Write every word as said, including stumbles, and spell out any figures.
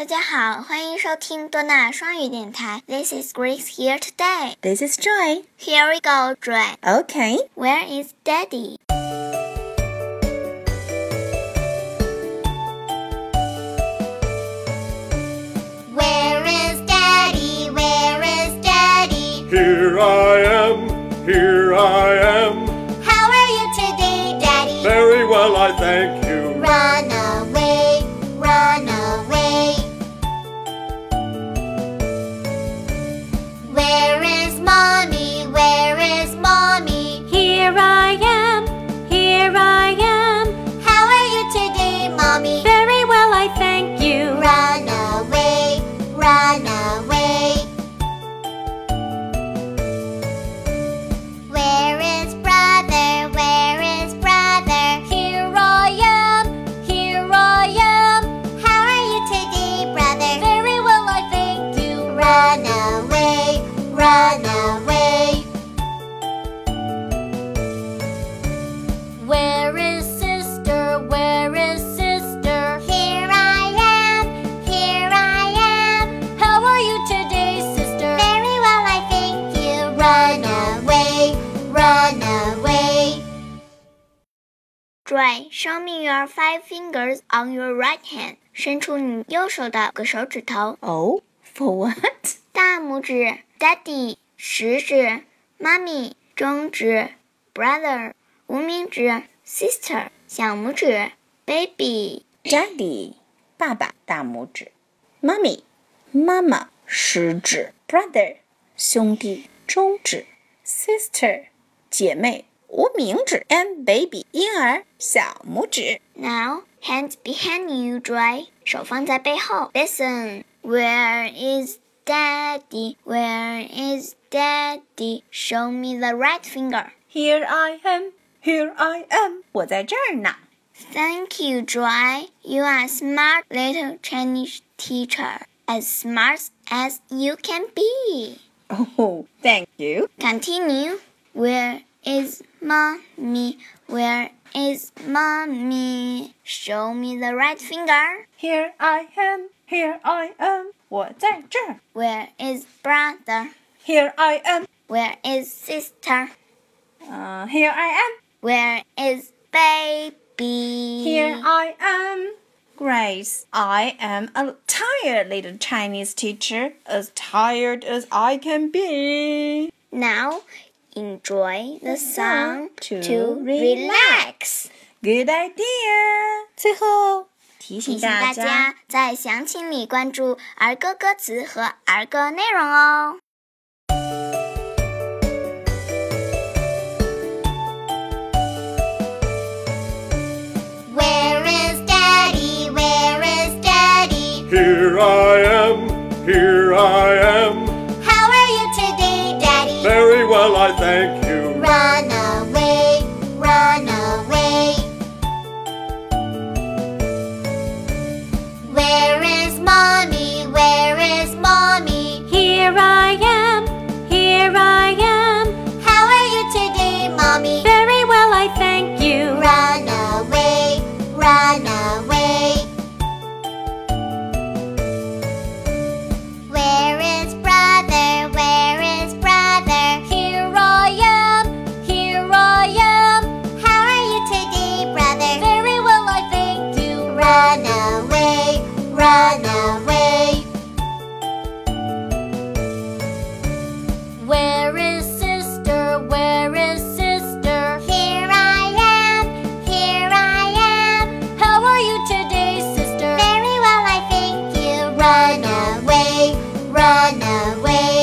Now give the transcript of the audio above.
大家好，欢迎收听多纳双语电台。This is Grace here today. This is Joy. Here we go, Joy. Okay. Where is Daddy? Where is Daddy? Where is Daddy? Here I am, here I am. How are you today, Daddy? Very well, I thank you. Run away, run away. Where is Mommy? Where is Mommy? Here I am, here I am. How are you today, Mommy? Very well, I thank you. Run away, run away. Where is brother? Where is brother? Here I am, here I am. How are you today, brother? Very well, I thank you. Run away, run away. Where is sister? Where is sister? Here I am, here I am. How are you today, sister? Very well, I thank you. Run away, run away. Joy, show me your five fingers on your right hand. 伸出你右手的个手指头。 Oh, for what? 大拇指 Daddy， 食指 Mommy， 中指 Brother， 无名指 Sister， 小拇指 Baby。 Daddy, 爸爸，大拇指。Mommy, 妈妈，食指。Brother, 兄弟，中指。Sister, 姐妹，无名指。And baby, 婴儿，小拇指。 Now, hands behind you, Joy. 手放在背后。Listen, where is Daddy? Where is Daddy? Show me the right finger. Here I am, here I am. 我在这儿呢。 Thank you, Joy. You are a smart little Chinese teacher. As smart as you can be. Oh, thank you. Continue. Where is Mommy? Where is Mommy? Show me the right finger. Here I am, here I am. 我在这儿。 Where is brother? Here I am, Where is sister? uh, here I am. Where is baby? Here I am. Grace, I am a tired little Chinese teacher, as tired as I can be. Now, enjoy the song to to relax. relax. Good idea. 最后提提醒醒大大家， 家在详情里关注儿歌歌词和儿歌内容哦。 Where is Daddy? Where is Daddy? Here I am, here I am. How are you today, Daddy? Very well, I thank you. Run away, run away. Where is Mommy? Where is Mommy? Here I am, here I am. How are you today, Mommy? Very well, I thank you. Run away, run away. Where is brother? Where is brother? Here I am, here I am. How are you today, brother? Very well, I thank you. Run away, run away. Where is sister? Where is sister? Here I am, here I am. How are you today, sister? Very well, I thank you. Run away, run away.